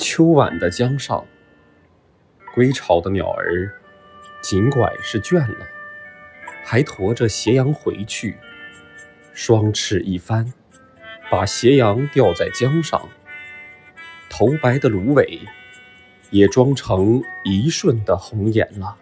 秋晚的江上，归巢的鸟儿尽管是倦了，还驮着斜阳回去，双翅一翻，把斜阳吊在江上，头白的芦苇也装成一瞬的红颜了。